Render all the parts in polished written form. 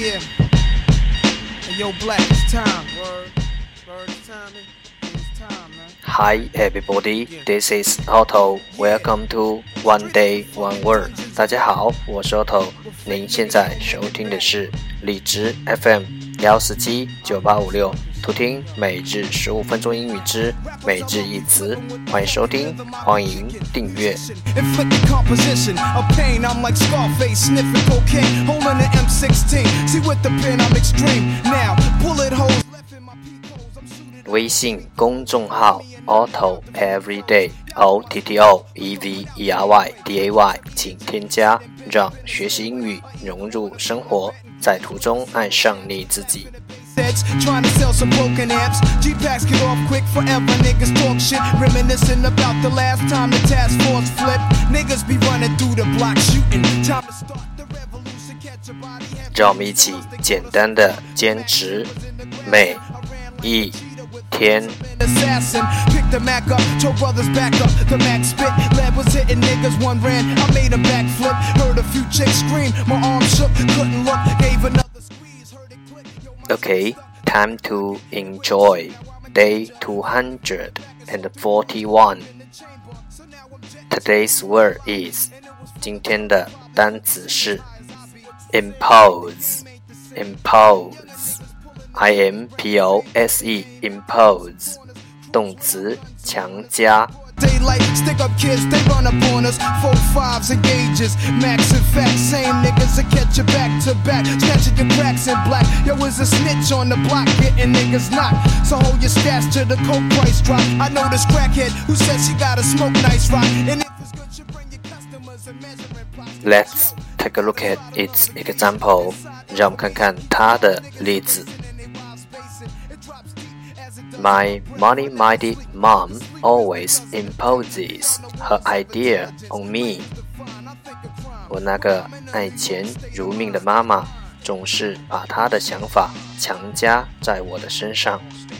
Yeah. Hey, yo, Black, it's time. Word, it's time, man. It's time, man. Hi everybody, this is Otto. Welcome to One Day One Word. 大家好，我是 Otto。您现在收听的是荔枝 FM 1479856，图听每日15分钟英语之每日一词。欢迎收听，欢迎订阅。微信公众号 Otto Everyday OTTO EVERYDAY， 请添加，让学习英语融入生活，在途中爱上你自己。 Trying to sell some broken amps. G-Packs get off quick forever. Niggas talk shit, reminiscing about the last time the task force flipped. Niggas be running through the block shooting. Time to start the revolution. Catch a body. 让我们一起简单的坚持每一天。 Assassin, pick the Mac up, told brothers back up. The Mac spit, lead was hitting niggas. One ran, I made a backflip. Heard a few chicks scream, my arm shook, couldn't look. Gave another squeeze, heard it click. Okay, time to enjoy day 241. Today's word is 今天的单词是 impose. I-M-P-O-S-E impose 动词强加。 Daylight, stick up kids, they run up on us. 4-5s and gauges, max and facts. Same niggas that catch you back to back. Snatching your cracks in black. Yo, is a snitch on the block, getting niggas knocked. So hold your stats till the coke price drop. I know this crackhead who says she gotta smoke nice rock. And if it's good, you bring your customers and measuring plots. Let's take a look at its example. 让我们看看它的例子。My money-minded mom always imposes her idea on me. 我那个爱钱如命的妈妈总是把她的想法强加在我的身上。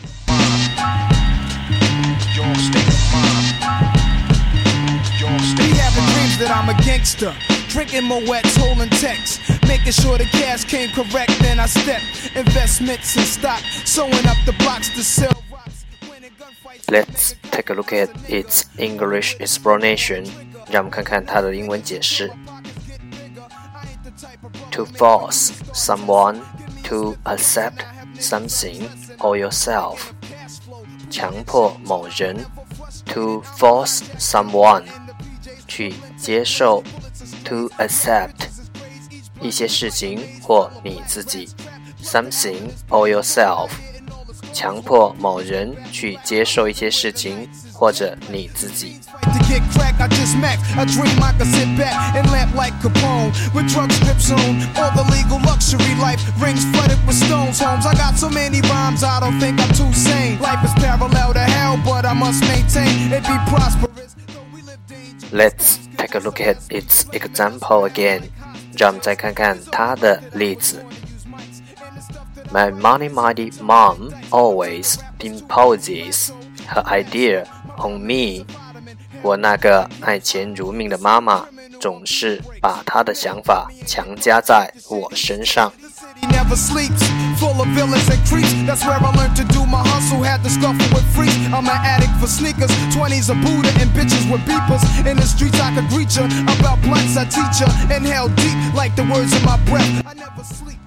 Be having dreams that I'm a gangster. Drinking Moet's, holding texts. Making sure the cash came correct, then I step. Investments in stock, sewing up the blocks to sell. Let's take a look at its English explanation. 让我们看看它的英文解释。To force someone to accept something or yourself. 强迫某人 to force someone 去接受 to accept 一些事情或你自己 something or yourself强迫某人去接受一些事情或者你自己。 To get crack, I just max. I dream I could sit back and lamp like Capone with drug strips on. All the legal luxury life rings flooded with stones. Homes, I got so many rhymes, I don't think I'm too sane. Life is parallel to hell, but I must maintain it be prosperous. Let's take a look at its example again. 让我们再看看它的例子。My money-minded mom always imposes her idea on me. 我那个爱钱如命的妈妈总是把她的想法强加在我身上。 Never sleeps, full of villains and creeps. That's where I learned to do my hustle. Had to scuffle with freaks. I'm an addict for sneakers. 20s a Buddha and bitches with beepers. In the streets I could greet ya. About blunts I teach ya. Inhale deep like the words in my breath. I never sleep.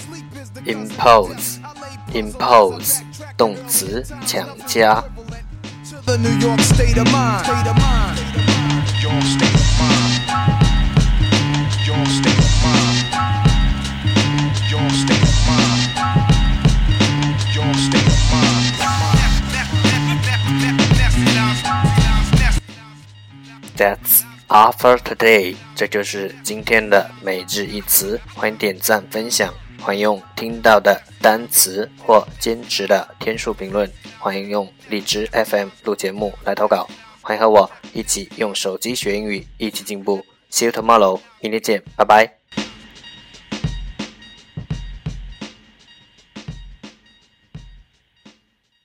Impose 动词强加。 The New York state of mind. Your state of mind. Your state of mind. Your state of mind. Your state of mind. That's all for today. 这就是今天的每日一词。欢迎点赞分享。欢迎用听到的单词或兼职的天数评论，欢迎用荔枝 FM 录节目来投稿，欢迎和我一起用手机学英语，一起进步。See you tomorrow， 明天见，拜拜。